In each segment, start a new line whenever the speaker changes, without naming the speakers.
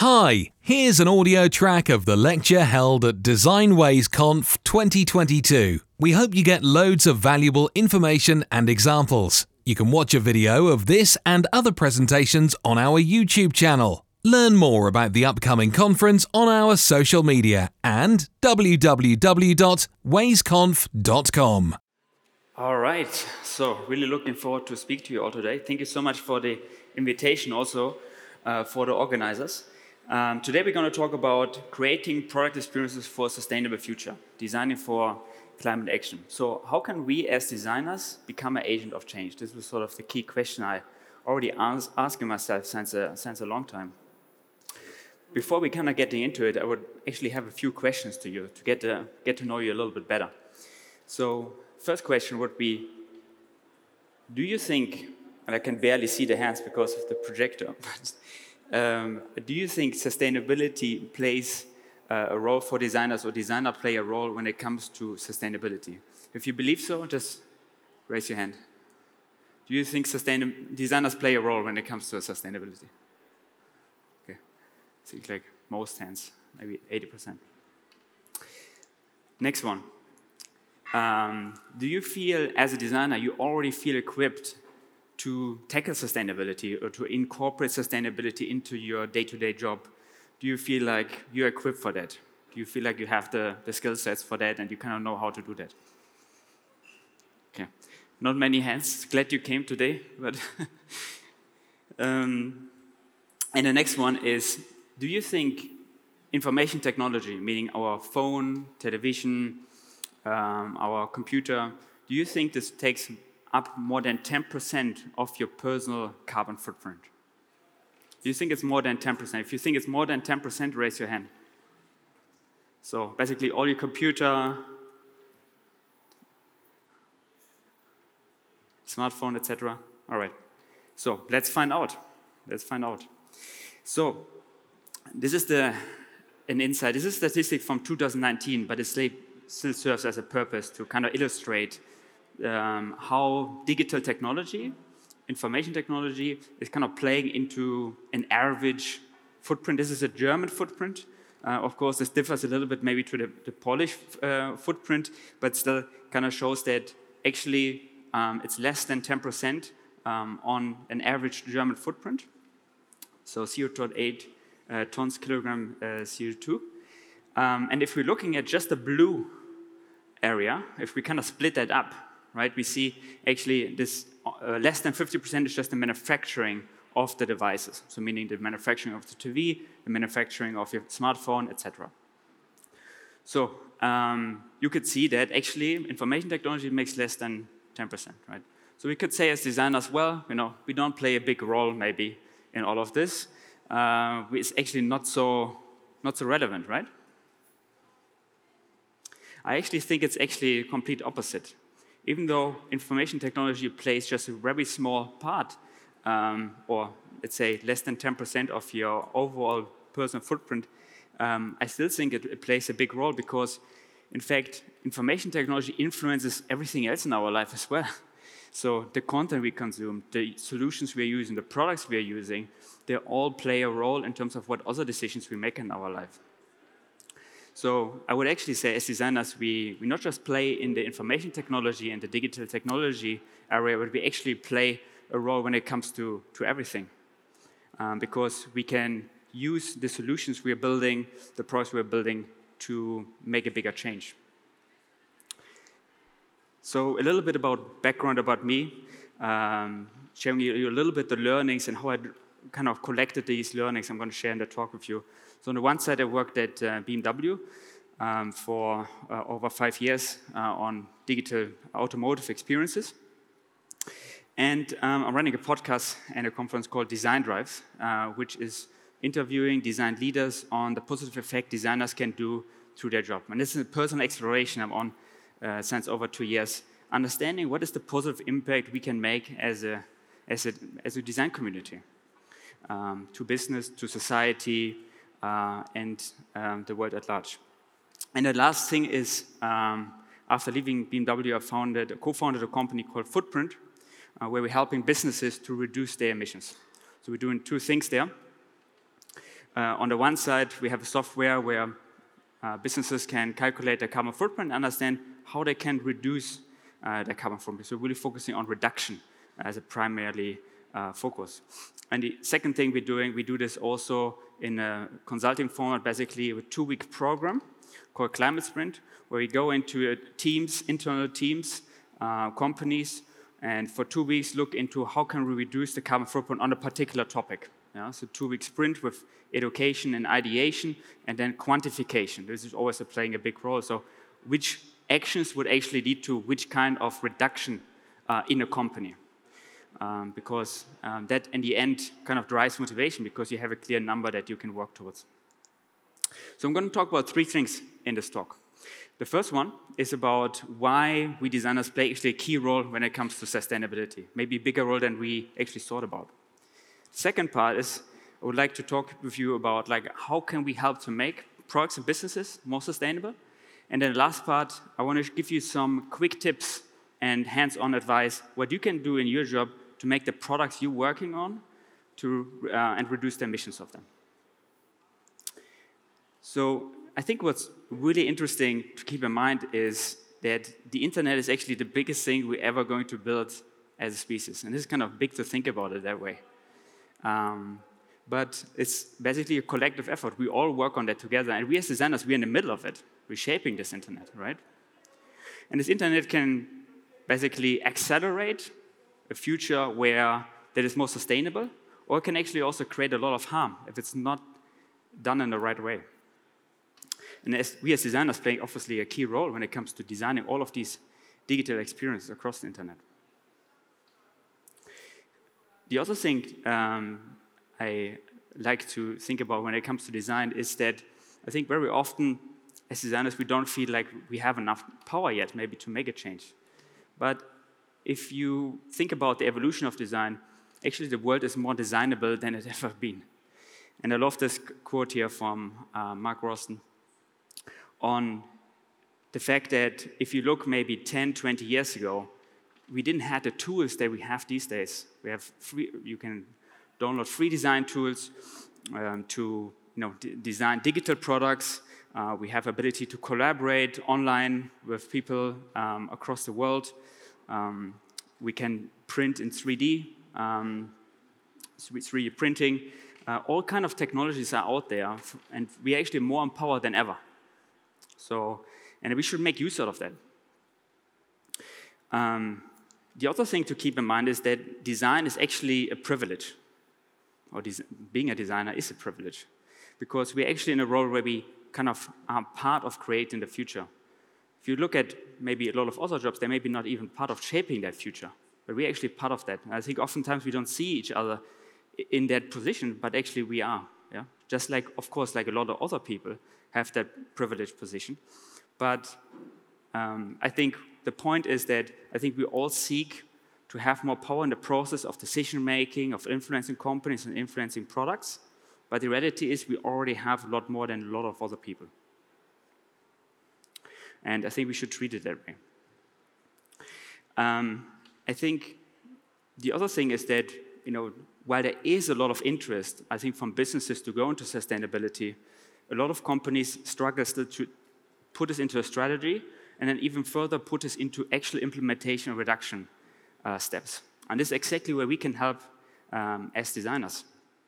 Hi, here's an audio track of the lecture held at DesignWays Conf 2022. We hope you get loads of valuable information and examples. You can watch a video of this and other presentations on our YouTube channel. Learn more about the upcoming conference on our social media and www.waysconf.com.
All right, so really looking forward to speak to you all today. Thank you so much for the invitation also for the organizers. Today we're going to talk about creating product experiences for a sustainable future, designing for climate action. So how can we as designers become an agent of change? This was sort of the key question I already asking myself since a long time. Before we kind of getting into it, I would actually have a few questions to you to get to know you a little bit better. So first question would be, do you think, and I can barely see the hands because of the projector, but do you think sustainability plays a role for designers, or designers play a role when it comes to sustainability? If you believe so, just raise your hand. Do you think designers play a role when it comes to sustainability? Okay, seems like most hands, maybe 80%. Next one. Do you feel, as a designer, you already feel equipped to tackle sustainability or to incorporate sustainability into your day-to-day job? Do you feel like you're equipped for that? Do you feel like you have the skill sets for that and you kind of know how to do that? Okay, not many hands. Glad you came today. But and the next one is, do you think information technology, meaning our phone, television, our computer, do you think this takes up more than 10% of your personal carbon footprint? Do you think it's more than 10%? If you think it's more than 10%, raise your hand. So basically all your computer, smartphone, etc. All right. So let's find out. So this is an insight. This is a statistic from 2019, but it still serves as a purpose to kind of illustrate how digital technology, information technology, is kind of playing into an average footprint. This is a German footprint. Of course, this differs a little bit maybe to the Polish footprint, but still kind of shows that actually it's less than 10% on an average German footprint. So 0.8 tons kilogram CO2. And if we're looking at just the blue area, if we kind of split that up, right, we see actually this less than 50% is just the manufacturing of the devices. So meaning the manufacturing of the TV, the manufacturing of your smartphone, etc. So you could see that actually information technology makes less than 10%, right? So we could say as designers, well, we don't play a big role maybe in all of this. It's actually not so relevant, right? I actually think it's actually a complete opposite. Even though information technology plays just a very small part, or let's say less than 10% of your overall personal footprint, I still think it plays a big role because, in fact, information technology influences everything else in our life as well. So the content we consume, the solutions we are using, the products we are using, they all play a role in terms of what other decisions we make in our life. So I would actually say as designers, we not just play in the information technology and the digital technology area, but we actually play a role when it comes to everything. Because we can use the solutions we are building, the products we are building to make a bigger change. So a little bit about background about me, sharing you a little bit the learnings and how I kind of collected these learnings I'm going to share in the talk with you. So on the one side, I worked at BMW for over 5 years on digital automotive experiences. And I'm running a podcast and a conference called Design Drives, which is interviewing design leaders on the positive effect designers can do through their job. And this is a personal exploration I'm on since over 2 years, understanding what is the positive impact we can make as a design community to business, to society, and the world at large. And the last thing is, after leaving BMW, I co-founded a company called Footprint, where we're helping businesses to reduce their emissions. So we're doing two things there. On the one side, we have a software where businesses can calculate their carbon footprint and understand how they can reduce their carbon footprint. So really focusing on reduction as a primarily focus. And the second thing we're doing, we do this also in a consulting format, basically a 2-week program called Climate Sprint, where we go into teams, internal teams, companies, and for 2 weeks look into how can we reduce the carbon footprint on a particular topic. Yeah? So 2-week sprint with education and ideation, and then quantification. This is always playing a big role. So which actions would actually lead to which kind of reduction in a company? Because that, in the end, kind of drives motivation because you have a clear number that you can work towards. So I'm going to talk about 3 things in this talk. The first one is about why we designers play actually a key role when it comes to sustainability, maybe a bigger role than we actually thought about. The second part is I would like to talk with you about how can we help to make products and businesses more sustainable. And then the last part, I want to give you some quick tips and hands-on advice what you can do in your job to make the products you're working on and reduce the emissions of them. So I think what's really interesting to keep in mind is that the internet is actually the biggest thing we're ever going to build as a species. And this is kind of big to think about it that way. But it's basically a collective effort. We all work on that together. And we as designers, we're in the middle of it. We're shaping this internet, right? And this internet can basically accelerate a future that is more sustainable, or it can actually also create a lot of harm if it's not done in the right way. And we as designers play obviously a key role when it comes to designing all of these digital experiences across the internet. The other thing I like to think about when it comes to design is that I think very often as designers we don't feel like we have enough power yet maybe to make a change. But if you think about the evolution of design, actually the world is more designable than it's ever been. And I love this quote here from Mark Rosten on the fact that if you look maybe 10, 20 years ago, we didn't have the tools that we have these days. You can download free design tools to design digital products. We have ability to collaborate online with people across the world. We can print in 3D, 3D printing. All kind of technologies are out there, and we're actually more empowered than ever. And we should make use out of that. The other thing to keep in mind is that design is actually a privilege, or being a designer is a privilege, because we're actually in a role where we kind of are part of creating the future. If you look at maybe a lot of other jobs, they're maybe not even part of shaping that future, but we're actually part of that. And I think oftentimes we don't see each other in that position, but actually we are. Yeah? Just like, of course, like a lot of other people have that privileged position. But I think the point is that I think we all seek to have more power in the process of decision-making, of influencing companies and influencing products. But the reality is we already have a lot more than a lot of other people. And I think we should treat it that way. I think the other thing is that, while there is a lot of interest, I think, from businesses to go into sustainability, a lot of companies struggle still to put this into a strategy and then even further put this into actual implementation and reduction steps. And this is exactly where we can help as designers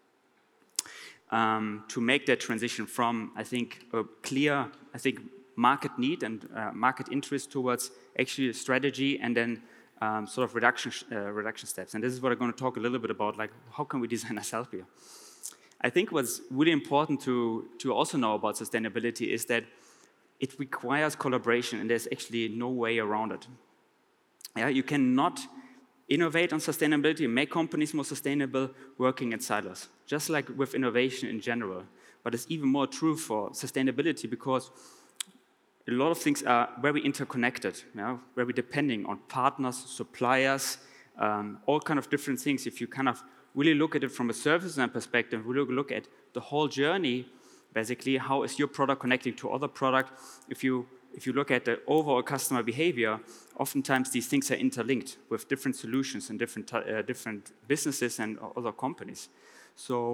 to make that transition from, I think, a clear, market need and market interest towards actually a strategy and then sort of reduction steps. And this is what I'm going to talk a little bit about, like how can we design ourselves here? I think what's really important to also know about sustainability is that it requires collaboration, and there's actually no way around it. Yeah, you cannot innovate on sustainability and make companies more sustainable working in silos, just like with innovation in general. But it's even more true for sustainability because a lot of things are very interconnected, very depending on partners, suppliers, all kind of different things. If you kind of really look at it from a service design perspective, we look at the whole journey, basically, how is your product connecting to other product? If you look at the overall customer behavior, oftentimes these things are interlinked with different solutions and different businesses and other companies. So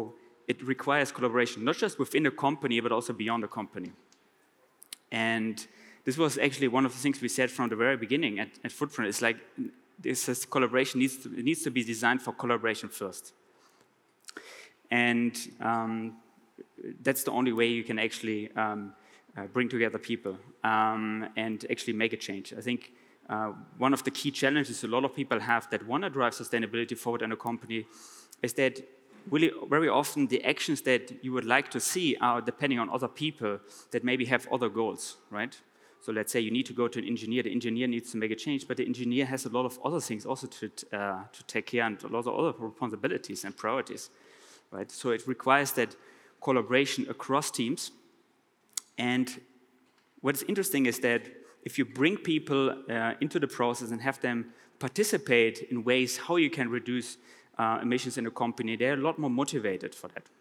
it requires collaboration, not just within a company, but also beyond a company. And this was actually one of the things we said from the very beginning at Footprint. It's like this collaboration needs to be designed for collaboration first. And that's the only way you can actually bring together people and actually make a change. I think one of the key challenges a lot of people have that want to drive sustainability forward in a company is that really very often the actions that you would like to see are depending on other people that maybe have other goals, right? So let's say you need to go to an engineer, the engineer needs to make a change, but the engineer has a lot of other things also to take care and a lot of other responsibilities and priorities, right? So it requires that collaboration across teams. And what's interesting is that if you bring people into the process and have them participate in ways how you can reduce emissions in a company, they're a lot more motivated for that.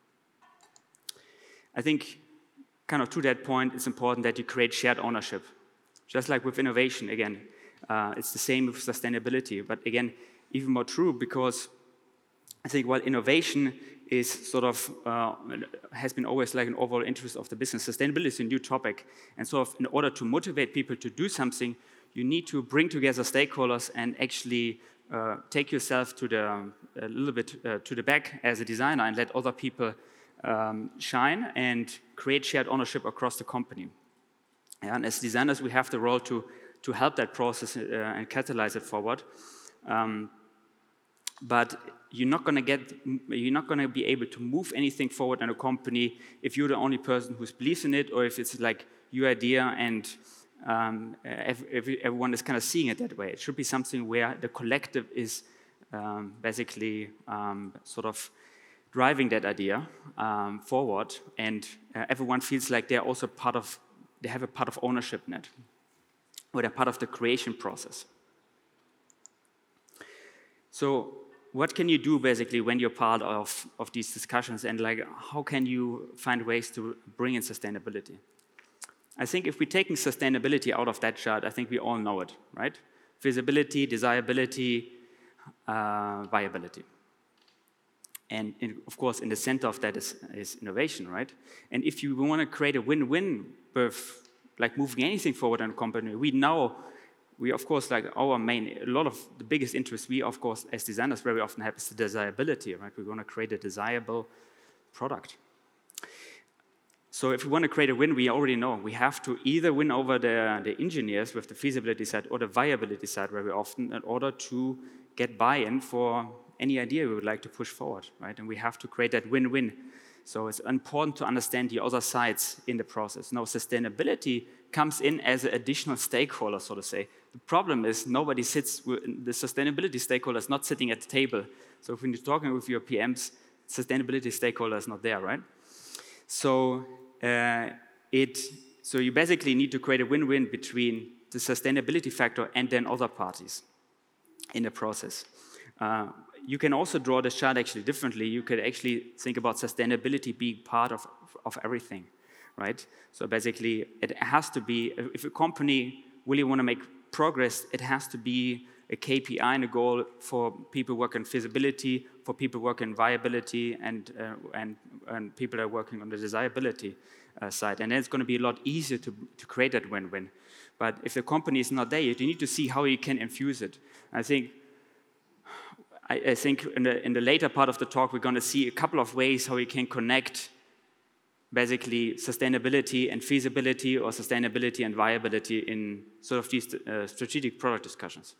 I think kind of to that point, it's important that you create shared ownership. Just like with innovation, again, it's the same with sustainability, but again, even more true because I think while innovation is sort of, has been always like an overall interest of the business, sustainability is a new topic. And so in order to motivate people to do something, you need to bring together stakeholders and actually take yourself to a little bit to the back as a designer and let other people shine and create shared ownership across the company. And as designers, we have the role to help that process and catalyze it forward. But you're not going to be able to move anything forward in a company if you're the only person who believes in it, or if it's like your idea and everyone is kind of seeing it that way. It should be something where the collective is basically sort of driving that idea forward, and everyone feels like they're also they have a part of ownership in it, or they're part of the creation process. So what can you do basically when you're part of these discussions, and like how can you find ways to bring in sustainability? I think if we're taking sustainability out of that chart, I think we all know it, right? Feasibility, desirability, viability. And of course, in the center of that is innovation, right? And if you want to create a win-win with like moving anything forward in a company, we of course, like a lot of the biggest interest we, of course, as designers very often have is the desirability, right? We want to create a desirable product. So if we want to create a win, we already know we have to either win over the engineers with the feasibility side or the viability side very often in order to get buy-in for any idea we would like to push forward, right? And we have to create that win-win. So it's important to understand the other sides in the process. Now, sustainability comes in as an additional stakeholder, so to say. The problem is the sustainability stakeholder is not sitting at the table. So when you're talking with your PMs, sustainability stakeholder is not there, right? So so you basically need to create a win-win between the sustainability factor and then other parties in the process. You can also draw the chart actually differently. You could actually think about sustainability being part of everything, right? So basically, it has to be, if a company really want to make progress, it has to be a KPI and a goal for people working on feasibility, for people working on viability, and people that are working on the desirability side. And then it's going to be a lot easier to create that win-win. But if the company is not there yet, you need to see how you can infuse it. I think in the later part of the talk, we're going to see a couple of ways how we can connect basically sustainability and feasibility, or sustainability and viability in sort of these strategic product discussions.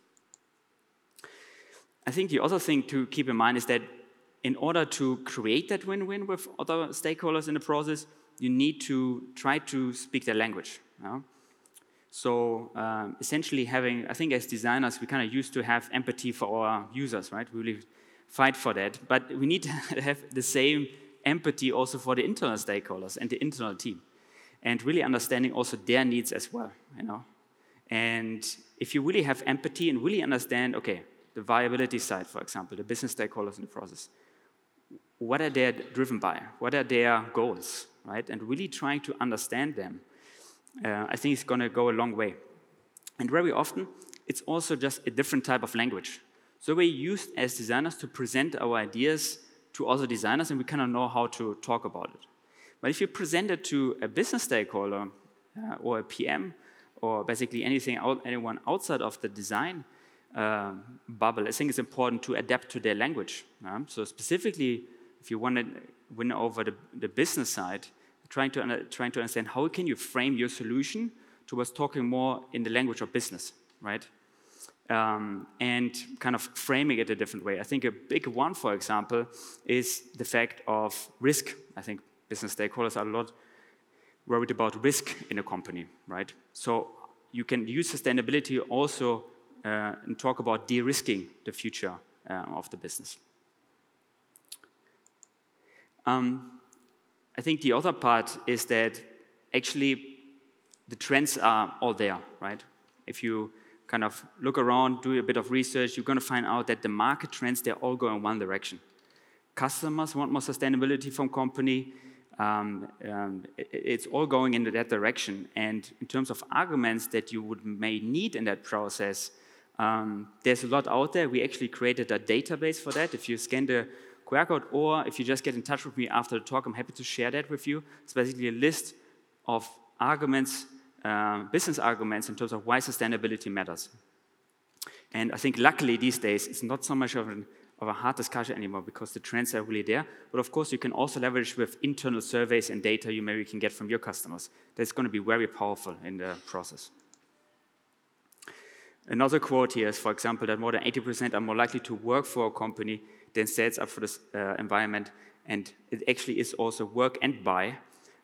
I think the other thing to keep in mind is that in order to create that win-win with other stakeholders in the process, you need to try to speak their language. You know? So essentially I think as designers, we kind of used to have empathy for our users, right? We really fight for that. But we need to have the same empathy also for the internal stakeholders and the internal team, and really understanding also their needs as well, you know? And if you really have empathy and really understand, okay, the viability side, for example, the business stakeholders in the process, what are they driven by? What are their goals, right? And really trying to understand them, I think it's going to go a long way. And very often, it's also just a different type of language. So we're used as designers to present our ideas to other designers, and we kind of know how to talk about it. But if you present it to a business stakeholder or a PM, or basically anyone outside of the design bubble, I think it's important to adapt to their language. So specifically, if you want to win over the business side, trying to understand how can you frame your solution towards talking more in the language of business, right? And kind of framing it a different way. I think a big one, for example, is the fact of risk. I think business stakeholders are a lot worried about risk in a company, right? So you can use sustainability also and talk about de-risking the future of the business. I think the other part is that actually the trends are all there, right? If you kind of look around, do a bit of research, you're going to find out that the market trends, they're all going in one direction. Customers want more sustainability from company. It's all going in that direction. And in terms of arguments that you may need in that process, there's a lot out there. We actually created a database for that. If you scan the QR code, or if you just get in touch with me after the talk, I'm happy to share that with you. It's basically a list of arguments, business arguments in terms of why sustainability matters. And I think luckily these days, it's not so much of a hard discussion anymore because the trends are really there. But of course, you can also leverage with internal surveys and data you maybe can get from your customers. That's going to be very powerful in the process. Another quote here is, for example, that more than 80% are more likely to work for a company than sets up for this environment. And it actually is also work and buy.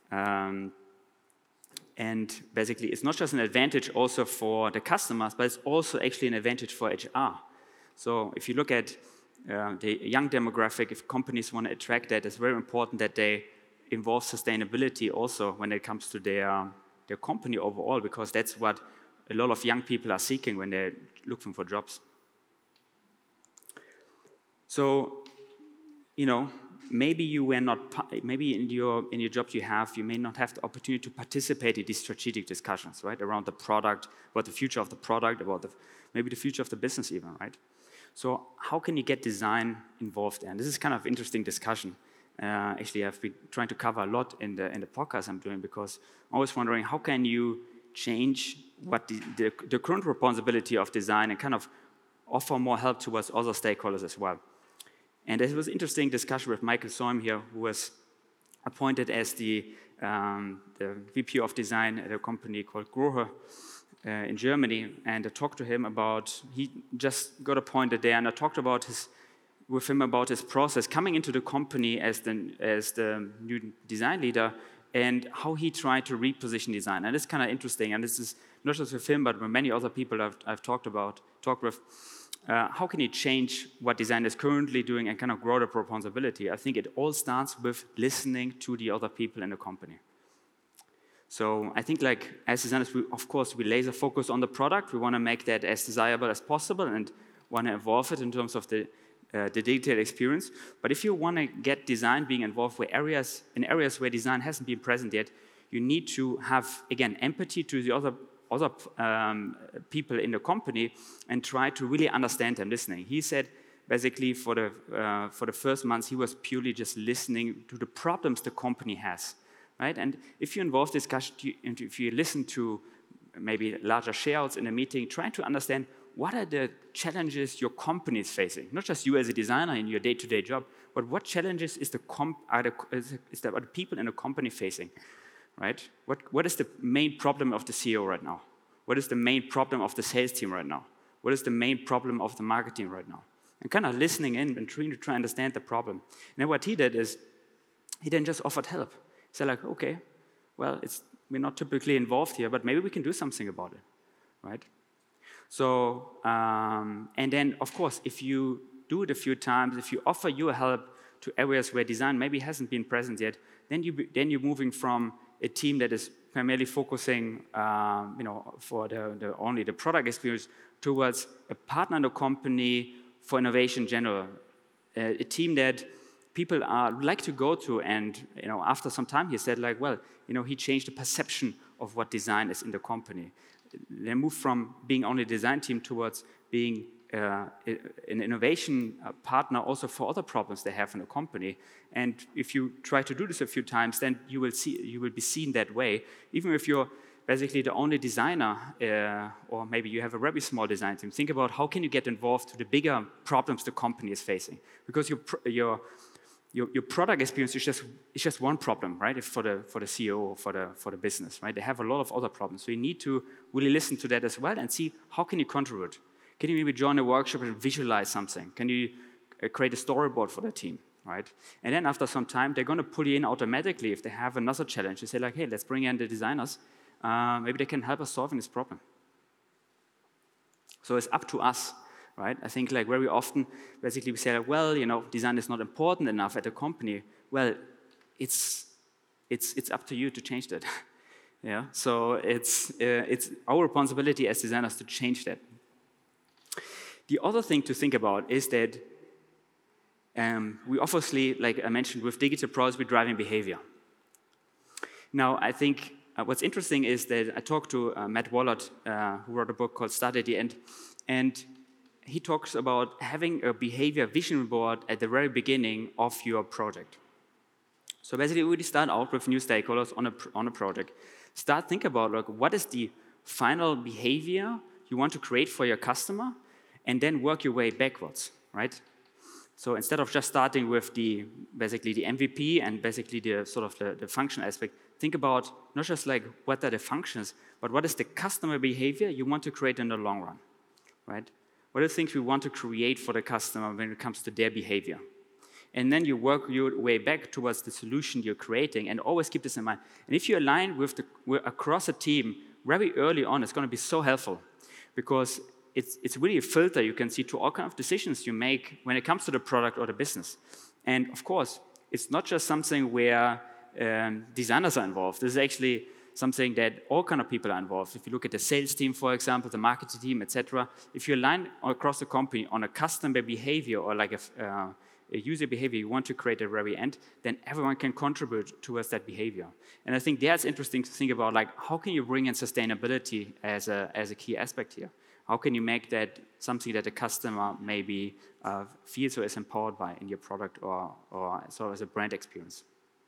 And basically, it's not just an advantage also for the customers, but it's also actually an advantage for HR. So if you look at the young demographic, if companies want to attract that, it's very important that they involve sustainability also when it comes to their company overall, because that's what a lot of young people are seeking when they're looking for jobs. So, maybe you were not, maybe in your job you may not have the opportunity to participate in these strategic discussions, right, around the product, about the future of the product, about maybe the future of the business even, right? So how can you get design involved there? And this is kind of interesting discussion. Actually, I've been trying to cover a lot in the podcast I'm doing, because I'm always wondering how can you change what the current responsibility of design and kind of offer more help towards other stakeholders as well. And there was an interesting discussion with Michael Soim here, who was appointed as the VP of design at a company called Grohe in Germany. And I talked to him about, he just got appointed there, and I talked with him about his process coming into the company as the new design leader, and how he tried to reposition design. And it's kind of interesting, and this is not just with him, but with many other people I've talked with. How can you change what design is currently doing and kind of grow the responsibility? I think it all starts with listening to the other people in the company. So I think, like, as designers, we laser focus on the product. We want to make that as desirable as possible and want to evolve it in terms of the detailed experience. But if you want to get design being involved in areas where design hasn't been present yet, you need to have, again, empathy to the other people in the company and try to really understand them, listening. He said, basically, for the first months, he was purely just listening to the problems the company has, right? And if you involve discussion, and if you listen to maybe larger shareouts in a meeting, try to understand what are the challenges your company is facing, not just you as a designer in your day-to-day job, but what challenges is the people in the company facing? Right? What is the main problem of the CEO right now? What is the main problem of the sales team right now? What is the main problem of the marketing right now? And kind of listening in and trying to understand the problem. And then what he did is, he then just offered help. He said, like, okay, well, we're not typically involved here, but maybe we can do something about it, right? So, and then, of course, if you do it a few times, if you offer your help to areas where design maybe hasn't been present yet, then you're moving from a team that is primarily focusing, for only the product experience towards a partner in the company for innovation in general, a team that people like to go to. And after some time, he said, like, well, he changed the perception of what design is in the company. They moved from being only a design team towards being an innovation partner also for other problems they have in a company. And if you try to do this a few times, then you will be seen that way. Even if you're basically the only designer, or maybe you have a very small design team, think about how can you get involved to the bigger problems the company is facing. Because your product experience is just one problem, right? If for the CEO or for the business, right? They have a lot of other problems. So you need to really listen to that as well and see how can you contribute. Can you maybe join a workshop and visualize something? Can you create a storyboard for the team, right? And then after some time, they're going to pull you in automatically if they have another challenge. They say like, hey, let's bring in the designers. Maybe they can help us solving this problem. So it's up to us, right? I think like very often, basically we say like, well, design is not important enough at a company. Well, it's up to you to change that. Yeah. So it's our responsibility as designers to change that. The other thing to think about is that we obviously, like I mentioned, with digital products, we're driving behavior. Now, I think what's interesting is that I talked to Matt Wallert, who wrote a book called Start at the End, and he talks about having a behavior vision board at the very beginning of your project. So basically, we start out with new stakeholders on a project. Think about like, what is the final behavior you want to create for your customer, and then work your way backwards, right? So instead of just starting with basically the MVP and basically the sort of the function aspect, think about not just like what are the functions, but what is the customer behavior you want to create in the long run, right? What are the things we want to create for the customer when it comes to their behavior? And then you work your way back towards the solution you're creating, and always keep this in mind. And if you align with across a team very early on, it's going to be so helpful, because it's really a filter you can see to all kinds of decisions you make when it comes to the product or the business. And of course, it's not just something where designers are involved. This is actually something that all kinds of people are involved. If you look at the sales team, for example, the marketing team, etc., if you align across the company on a customer behavior or like a user behavior you want to create at the very end, then everyone can contribute towards that behavior. And I think that's interesting to think about, like, how can you bring in sustainability as a key aspect here? How can you make that something that the customer maybe feels or is empowered by in your product or sort of as a brand experience?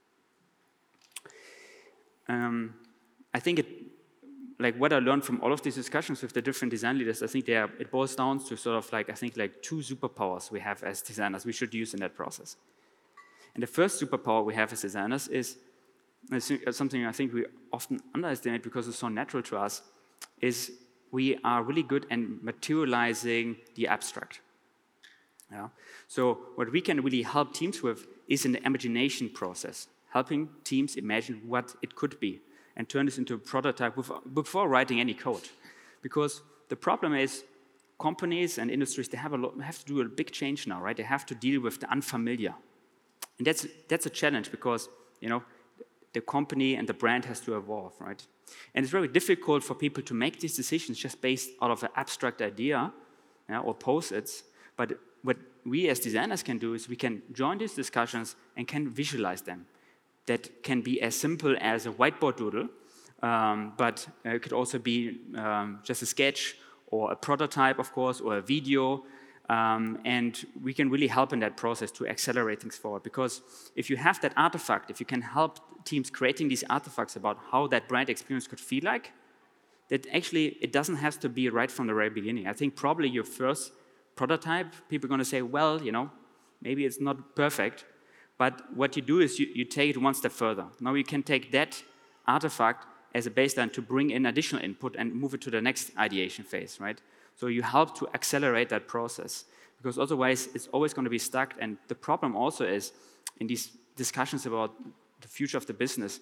I think like what I learned from all of these discussions with the different design leaders, I think it boils down to sort of like, I think like two superpowers we have as designers we should use in that process. And the first superpower we have as designers is something I think we often underestimate because it's so natural to us, is we are really good at materializing the abstract. Yeah? So what we can really help teams with is in the imagination process, helping teams imagine what it could be and turn this into a prototype before writing any code. Because the problem is companies and industries, they have to do a big change now, right? They have to deal with the unfamiliar. And that's a challenge because, the company and the brand has to evolve, right? And it's very difficult for people to make these decisions just based out of an abstract idea or post-its. But what we as designers can do is we can join these discussions and can visualize them. That can be as simple as a whiteboard doodle, but it could also be just a sketch or a prototype, of course, or a video. And we can really help in that process to accelerate things forward. Because if you have that artifact, if you can help teams creating these artifacts about how that brand experience could feel like, that actually it doesn't have to be right from the very beginning. I think probably your first prototype, people are going to say, well, maybe it's not perfect. But what you do is you take it one step further. Now you can take that artifact as a baseline to bring in additional input and move it to the next ideation phase, right? So you help to accelerate that process, because otherwise it's always going to be stuck. And the problem also is in these discussions about the future of the business,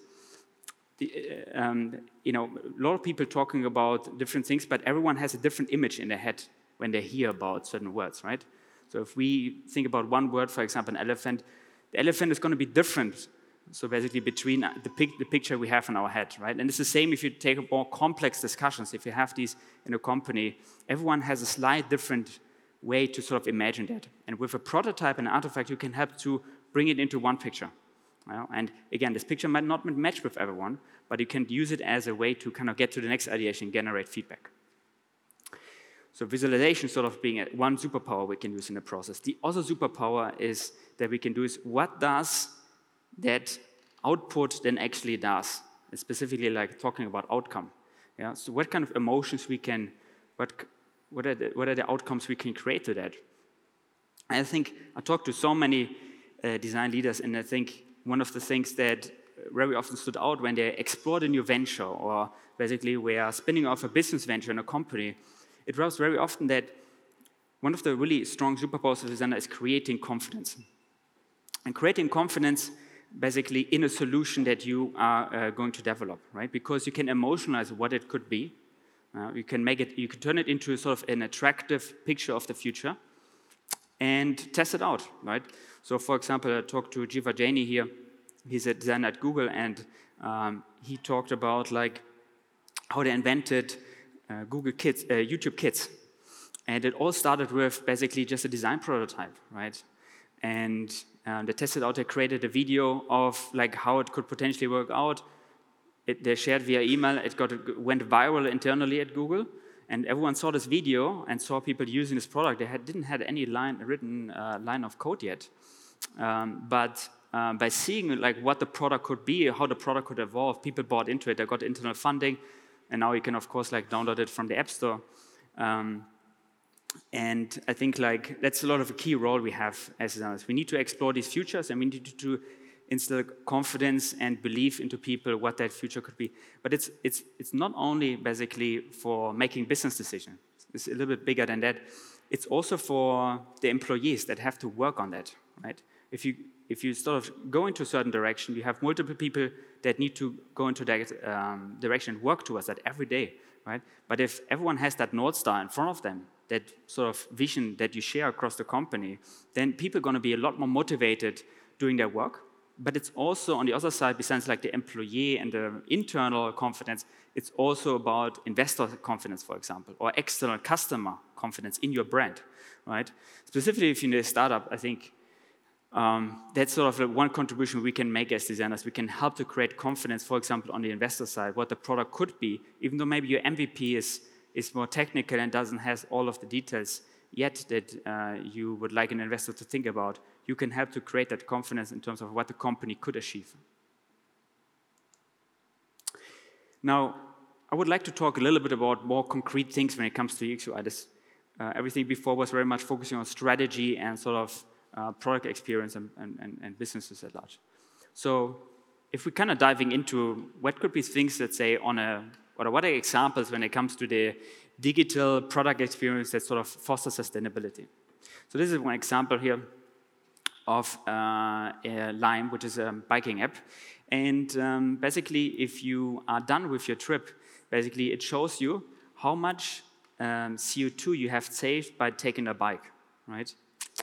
a lot of people talking about different things, but everyone has a different image in their head when they hear about certain words, right? So if we think about one word, for example, an elephant, the elephant is going to be different. So basically between the picture we have in our head, right? And it's the same if you take more complex discussions. If you have these in a company, everyone has a slight different way to sort of imagine that. And with a prototype and artifact, you can help to bring it into one picture. And again, this picture might not match with everyone, but you can use it as a way to kind of get to the next ideation, generate feedback. So visualization sort of being one superpower we can use in the process. The other superpower is that we can do is what does that output then actually does? And specifically like talking about outcome. Yeah? So what kind of emotions we can, what are the outcomes we can create to that? I think I talked to so many design leaders, and I think one of the things that very often stood out when they explored a new venture or basically were spinning off a business venture in a company, it was very often that one of the really strong superpowers of design is creating confidence. And creating confidence basically in a solution that you are going to develop, right? Because you can emotionalize what it could be. You can turn it into sort of an attractive picture of the future and test it out, right? So for example, I talked to Jiva Jaini here. He's a designer at Google, and he talked about like how they invented Google Kids, YouTube Kids. And it all started with basically just a design prototype, right? And they tested out, they created a video of like how it could potentially work out. They shared via email, went viral internally at Google, and everyone saw this video and saw people using this product. They didn't have any written line of code yet. But by seeing like what the product could be, how the product could evolve, people bought into it. They got internal funding, and now you can of course like download it from the App Store. And I think like that's a lot of a key role we have as designers. We need to explore these futures, and we need to instill confidence and belief into people what that future could be. But it's not only basically for making business decisions. It's a little bit bigger than that. It's also for the employees that have to work on that, right? If you sort of go into a certain direction, you have multiple people that need to go into that direction and work towards that every day, right? But if everyone has that North Star in front of them, that sort of vision that you share across the company, then people are going to be a lot more motivated doing their work. But it's also on the other side, besides like the employee and the internal confidence, it's also about investor confidence, for example, or external customer confidence in your brand, right? Specifically, if you're in a startup, I think that's sort of one contribution we can make as designers. We can help to create confidence, for example, on the investor side, what the product could be, even though maybe your MVP is more technical and doesn't have all of the details yet that you would like an investor to think about. You can help to create that confidence in terms of what the company could achieve. Now, I would like to talk a little bit about more concrete things when it comes to UX UI. Everything before was very much focusing on strategy and sort of product experience and businesses at large. So if we're kind of diving into what could be things that say what are examples when it comes to the digital product experience that sort of foster sustainability. So this is one example here of Lime, which is a biking app. And basically, if you are done with your trip, basically it shows you how much CO2 you have saved by taking a bike, right?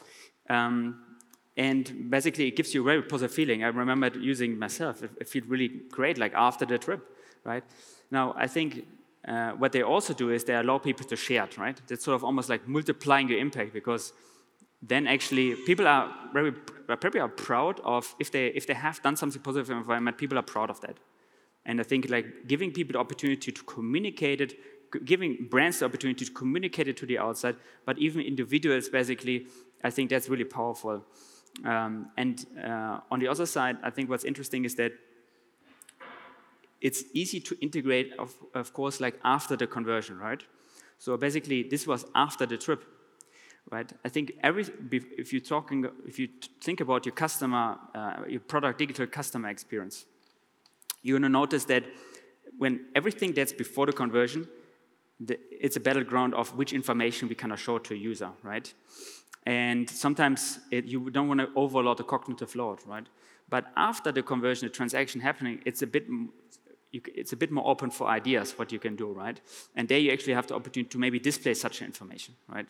And basically, it gives you a very positive feeling. I remember using it myself. It felt really great, like after the trip, right? Now, I think what they also do is they allow people to share it, right? That's sort of almost like multiplying your impact, because then actually people are probably proud of, if they have done something positive in the environment, people are proud of that. And I think like giving people the opportunity to communicate it, giving brands the opportunity to communicate it to the outside, but even individuals basically, I think that's really powerful. On the other side, I think what's interesting is that it's easy to integrate, of course, like after the conversion, right? So basically, this was after the trip, right? I think if you think about your customer, your product digital customer experience, you're going to notice that when everything that's before the conversion, it's a battleground of which information we kind of show to a user, right? And sometimes you don't want to overload the cognitive load, right? But after the conversion, the transaction happening, it's a bit more open for ideas what you can do, right? And there you actually have the opportunity to maybe display such information, right?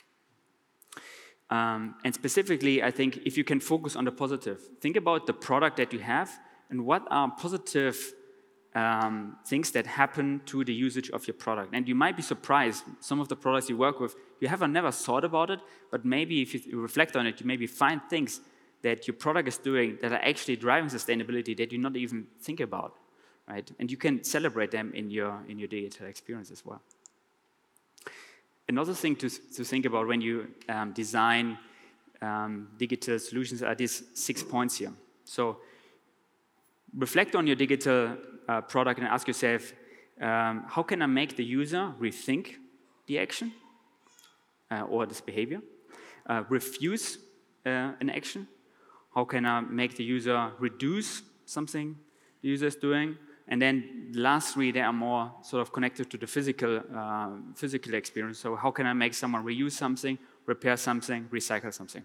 And specifically, I think if you can focus on the positive, think about the product that you have and what are positive things that happen to the usage of your product. And you might be surprised, some of the products you work with, you have never thought about it, but maybe if you reflect on it, you maybe find things that your product is doing that are actually driving sustainability that you not even think about, right? And you can celebrate them in your digital experience as well. Another thing to think about when you design digital solutions are these 6 points here. So reflect on your digital product and ask yourself, how can I make the user rethink the action or this behavior, refuse an action? How can I make the user reduce something the user is doing? And then the last 3, they are more sort of connected to the physical experience. So how can I make someone reuse something, repair something, recycle something?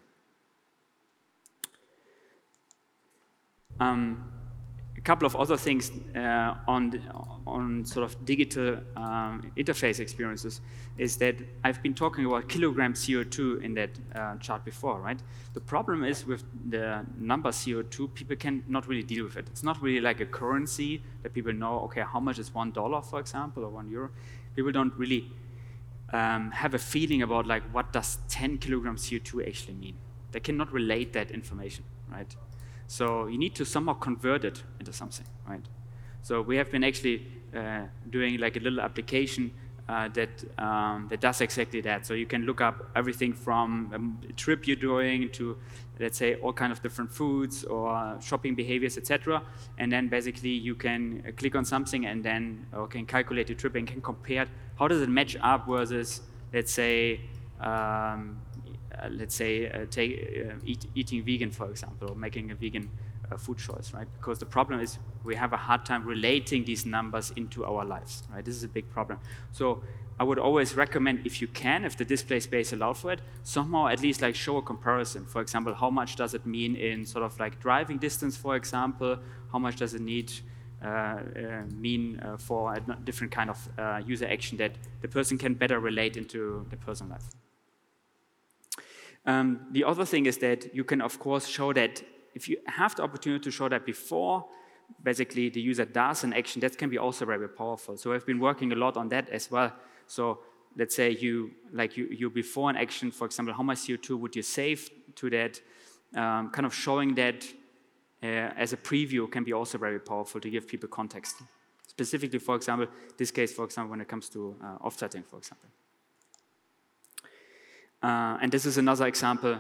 A couple of other things on sort of digital interface experiences is that I've been talking about kilogram CO2 in that chart before, right? The problem is with the number CO2, people can not really deal with it. It's not really like a currency that people know, okay, how much is $1, for example, or €1? People don't really have a feeling about like what does 10 kilograms CO2 actually mean. They cannot relate that information, right? So you need to somehow convert it into something, right? So we have been actually doing like a little application that does exactly that. So you can look up everything from a trip you're doing to, let's say, all kind of different foods or shopping behaviors, etc. And then basically you can click on something and then can calculate your trip and can compare how does it match up versus, let's say, eating vegan, for example, or making a vegan food choice, right? Because the problem is we have a hard time relating these numbers into our lives, right? This is a big problem. So I would always recommend, if you can, if the display space allows for it, somehow at least like show a comparison. For example, how much does it mean in sort of like driving distance, for example? How much does it mean for a different kind of user action that the person can better relate into the personal life? The other thing is that you can, of course, show that if you have the opportunity to show that before, basically the user does an action, that can be also very powerful. So I've been working a lot on that as well. So let's say you before an action, for example, how much CO2 would you save to that? Kind of showing that as a preview can be also very powerful to give people context. Specifically, for example, this case, for example, when it comes to offsetting, for example. And this is another example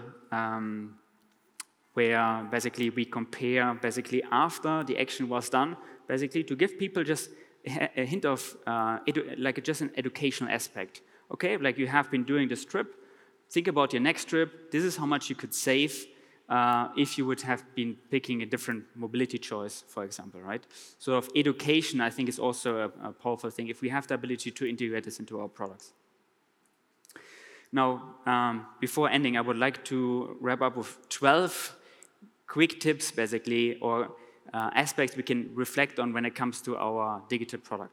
where basically we compare basically after the action was done, basically to give people just a hint of like just an educational aspect. Okay, like you have been doing this trip, think about your next trip, this is how much you could save if you would have been picking a different mobility choice, for example, right? So of education, I think, is also a powerful thing if we have the ability to integrate this into our products. Now, before ending, I would like to wrap up with 12 quick tips, basically, or aspects we can reflect on when it comes to our digital product.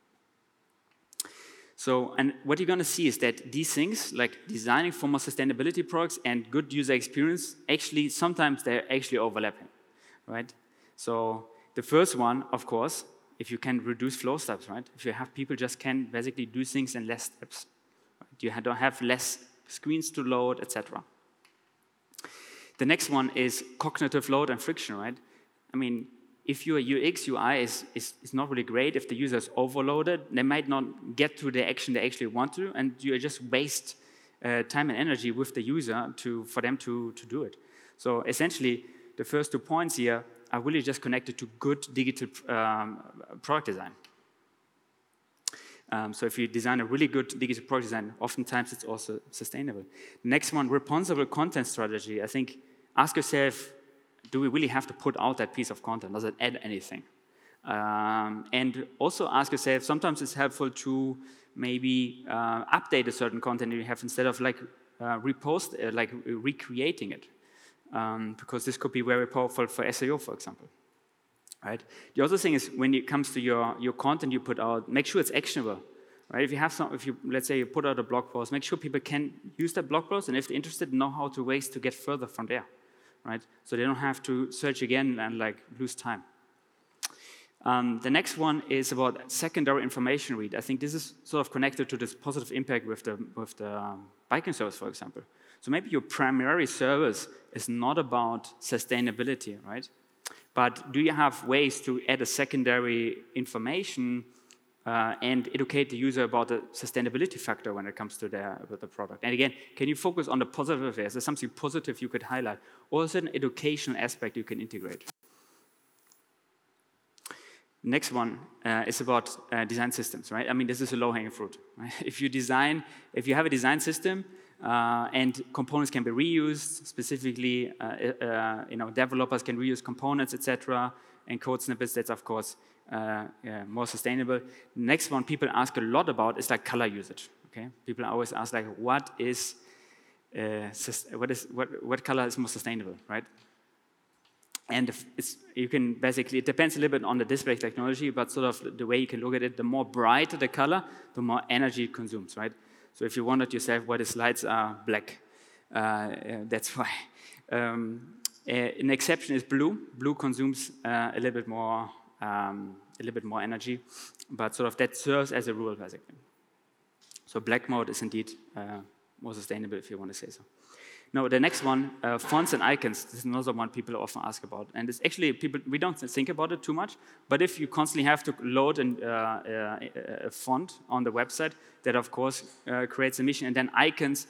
So, and what you're going to see is that these things, like designing for more sustainability products and good user experience, actually, sometimes they're actually overlapping, right? So, the first one, of course, if you can reduce flow steps, right? If you have people just can basically do things in less steps. You don't have less screens to load, etc. The next one is cognitive load and friction, right? I mean, if your UX, UI is not really great, if the user is overloaded, they might not get to the action they actually want to, and you just waste time and energy with the user for them to do it. So essentially, the first 2 points here are really just connected to good digital product design. So if you design a really good digital product design, oftentimes it's also sustainable. The next one, responsible content strategy. I think, ask yourself, do we really have to put out that piece of content? Does it add anything? And also ask yourself, sometimes it's helpful to maybe update a certain content you have instead of like recreating it. Because this could be very powerful for SEO, for example. Right? The other thing is when it comes to your content you put out, make sure it's actionable. Right? If you let's say you put out a blog post, make sure people can use that blog post, and if they're interested, know how to ways to get further from there. Right? So they don't have to search again and like lose time. The next one is about secondary information read. I think this is sort of connected to this positive impact with the biking service, for example. So maybe your primary service is not about sustainability, right? But do you have ways to add a secondary information and educate the user about the sustainability factor when it comes to the product. And again, can you focus on the positive? Is there something positive you could highlight? Or is it an educational aspect you can integrate? Next one is about design systems, right? I mean, this is a low-hanging fruit. Right? If you have a design system and components can be reused, specifically, developers can reuse components, etc., and code snippets, that's of course more sustainable. Next one people ask a lot about is like color usage. Okay, people always ask like, what color is more sustainable, right? And you can basically, it depends a little bit on the display technology, but sort of the way you can look at it, the more brighter the color, the more energy it consumes, right? So if you wanted yourself why the slides are black, that's why. An exception is blue. Blue consumes a little bit more energy, but sort of that serves as a rule basically. So black mode is indeed more sustainable if you want to say so. Now, the next one, fonts and icons. This is another one people often ask about. And it's actually, we don't think about it too much, but if you constantly have to load a font on the website, that of course creates emission. And then icons,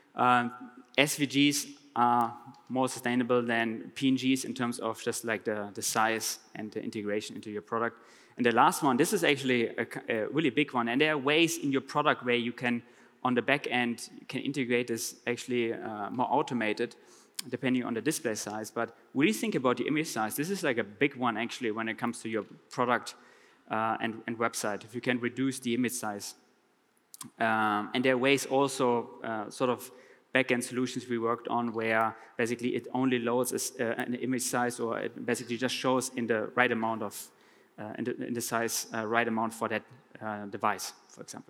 SVGs are more sustainable than PNGs in terms of just like the size and the integration into your product. And the last one, this is actually a really big one. And there are ways in your product where you can, on the back end, you can integrate this actually more automated, depending on the display size. But when you think about the image size, this is like a big one actually when it comes to your product and website. If you can reduce the image size. And there are ways also sort of back-end solutions we worked on where basically it only loads an image size, or it basically just shows in the right amount of, in the size right amount for that device, for example.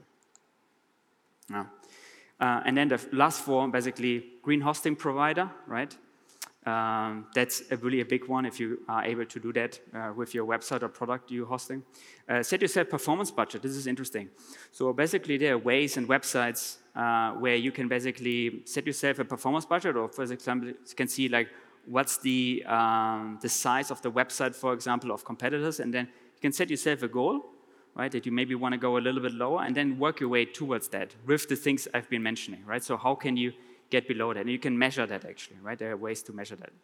And then the last four, basically green hosting provider, right? That's really a big one if you are able to do that with your website or product you're hosting. Set yourself performance budget. This is interesting. So basically there are ways and websites where you can basically set yourself a performance budget, or for example, you can see like what's the size of the website, for example, of competitors, and then you can set yourself a goal, right, that you maybe want to go a little bit lower, and then work your way towards that with the things I've been mentioning, right? So how can you get below that? And you can measure that actually, right? There are ways to measure that.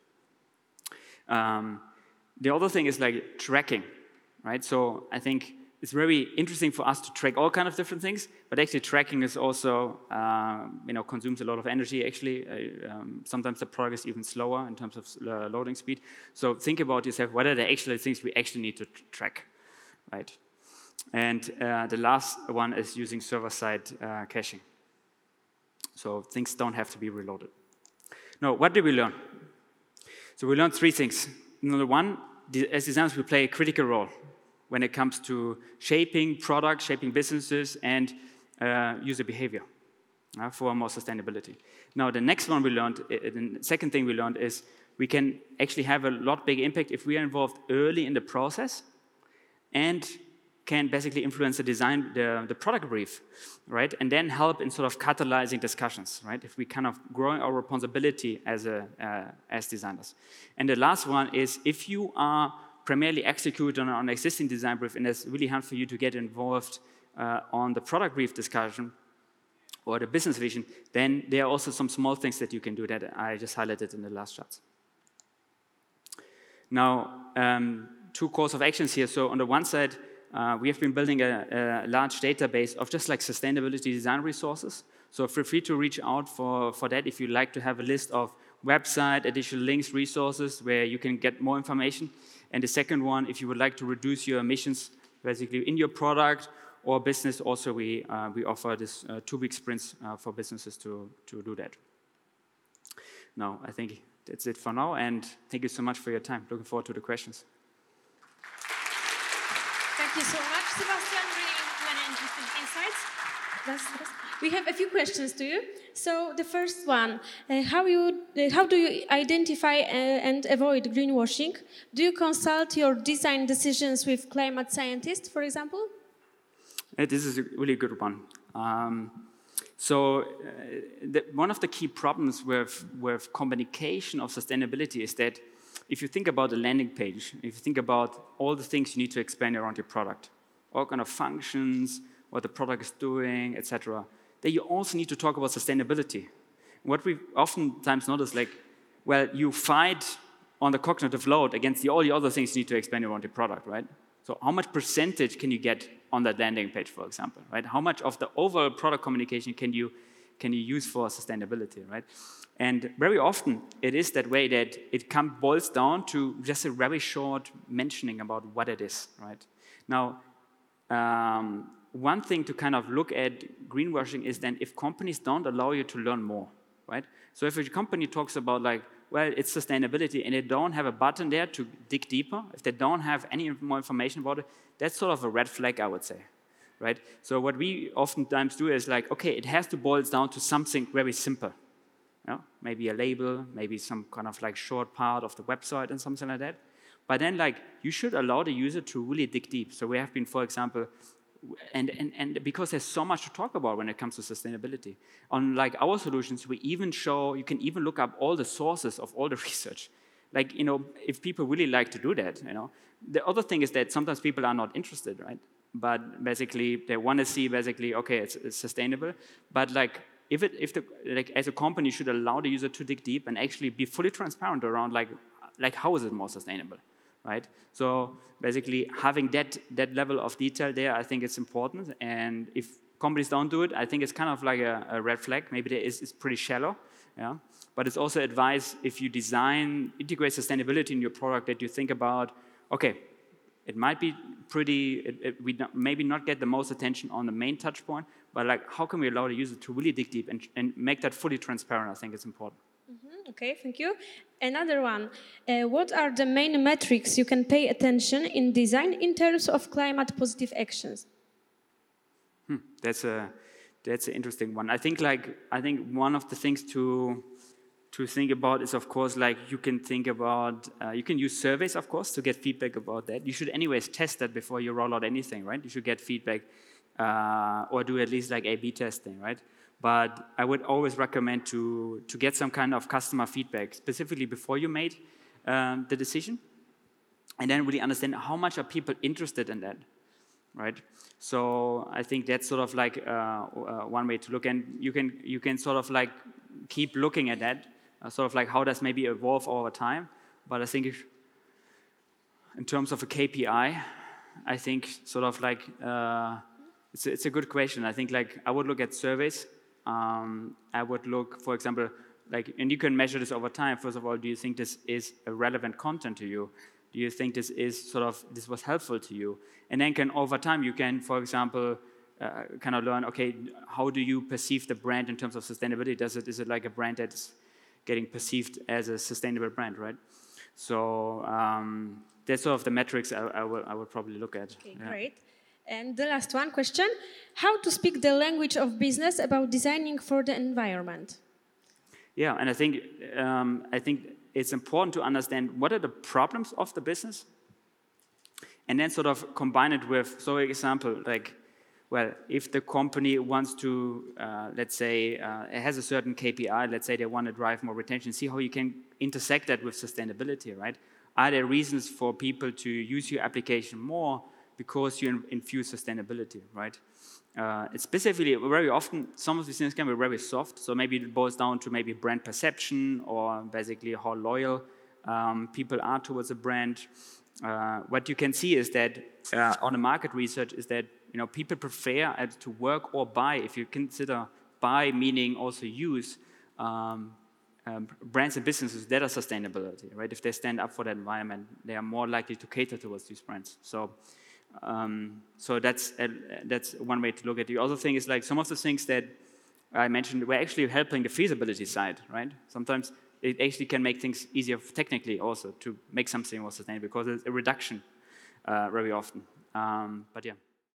The other thing is like tracking, right? So I think it's very interesting for us to track all kinds of different things, but actually tracking is also, consumes a lot of energy actually. Sometimes the product is even slower in terms of loading speed. So think about yourself, what are the actual things we actually need to track, right? And the last one is using server-side caching. So things don't have to be reloaded. Now, what did we learn? So we learned three things. Number one, as designers, we play a critical role when it comes to shaping products, shaping businesses, and user behavior for more sustainability. Now, the next one we learned, the second thing we learned is we can actually have a lot bigger impact if we are involved early in the process and can basically influence the design, the product brief, right? And then help in sort of catalyzing discussions, right? If we kind of growing our responsibility as designers. And the last one is if you are primarily executing on an existing design brief, and it's really hard for you to get involved on the product brief discussion or the business vision, then there are also some small things that you can do that I just highlighted in the last charts. Now, two course of actions here. So on the one side, we have been building a large database of just like sustainability design resources. So feel free to reach out for that if you'd like to have a list of website, additional links, resources where you can get more information. And the second one, if you would like to reduce your emissions basically in your product or business, also we offer this 2-week sprints for businesses to do that. Now, I think that's it for now, and thank you so much for your time. Looking forward to the questions.
Thank you so much, Sebastian. Really many interesting insights. We have a few questions to you. So the first one, how do you identify and avoid greenwashing? Do you consult your design decisions with climate scientists, for example?
This is a really good one. One of the key problems with communication of sustainability is that if you think about the landing page, if you think about all the things you need to explain around your product, all kind of functions, what the product is doing, etc. Then you also need to talk about sustainability. What we oftentimes notice, like, well, you fight on the cognitive load against all the other things you need to explain around the product, right? So how much percentage can you get on that landing page, for example, right? How much of the overall product communication can you use for sustainability, right? And very often it is that way that it boils down to just a very short mentioning about what it is, right? Now, one thing to kind of look at greenwashing is then if companies don't allow you to learn more, right? So if a company talks about like, well, it's sustainability, and they don't have a button there to dig deeper, if they don't have any more information about it, that's sort of a red flag, I would say, right? So what we oftentimes do is like, okay, it has to boil down to something very simple. You know? Maybe a label, maybe some kind of like short part of the website and something like that. But then like, you should allow the user to really dig deep. So we have been, for example, and because there's so much to talk about when it comes to sustainability. On like our solutions, we even show, you can even look up all the sources of all the research. Like, you know, if people really like to do that, you know. The other thing is that sometimes people are not interested, right? But basically, they want to see basically, okay, it's sustainable. But like, as a company, you should allow the user to dig deep and actually be fully transparent around like how is it more sustainable? Right? So basically having that level of detail there, I think it's important. And if companies don't do it, I think it's kind of like a red flag. Maybe it's pretty shallow. Yeah? But it's also advice if you integrate sustainability in your product that you think about, okay, it might be pretty, maybe not get the most attention on the main touch point, but like how can we allow the user to really dig deep and make that fully transparent? I think it's important.
Okay, thank you. Another one. What are the main metrics you can pay attention in design in terms of climate positive actions?
That's an interesting one. I think one of the things to think about is, of course, like you can think about, you can use surveys, of course, to get feedback about that. You should anyways test that before you roll out anything, right? You should get feedback or do at least like A/B testing, right? But I would always recommend to get some kind of customer feedback, specifically before you made the decision, and then really understand how much are people interested in that, right? So I think that's sort of like one way to look, and you can sort of like keep looking at that, sort of like how does maybe evolve over time. But I think in terms of a KPI, I think sort of like it's a good question. I think like I would look at surveys. I would look, for example, like, and you can measure this over time. First of all, do you think this is a relevant content to you? Do you think this was helpful to you? And then over time, you can, for example, kind of learn, okay, how do you perceive the brand in terms of sustainability? Is it like a brand that's getting perceived as a sustainable brand, right? So that's sort of the metrics I would probably look at.
Okay, yeah. Great. And the last one question, how to speak the language of business about designing for the environment?
Yeah, and I think it's important to understand what are the problems of the business, and then sort of combine it with, so for example, like, well, if the company wants to, let's say, it has a certain KPI, let's say they want to drive more retention, see how you can intersect that with sustainability, right? Are there reasons for people to use your application more because you infuse sustainability, right? It's specifically, very often, some of these things can be very soft, so maybe it boils down to maybe brand perception or basically how loyal people are towards a brand. What you can see is that on the market research is that people prefer to work or buy, if you consider buy meaning also use, brands and businesses that are sustainability, right? If they stand up for that environment, they are more likely to cater towards these brands. So that's one way to look at it. The other thing is like some of the things that I mentioned were actually helping the feasibility side, right? Sometimes it actually can make things easier technically also to make something more sustainable because it's a reduction very often. But yeah.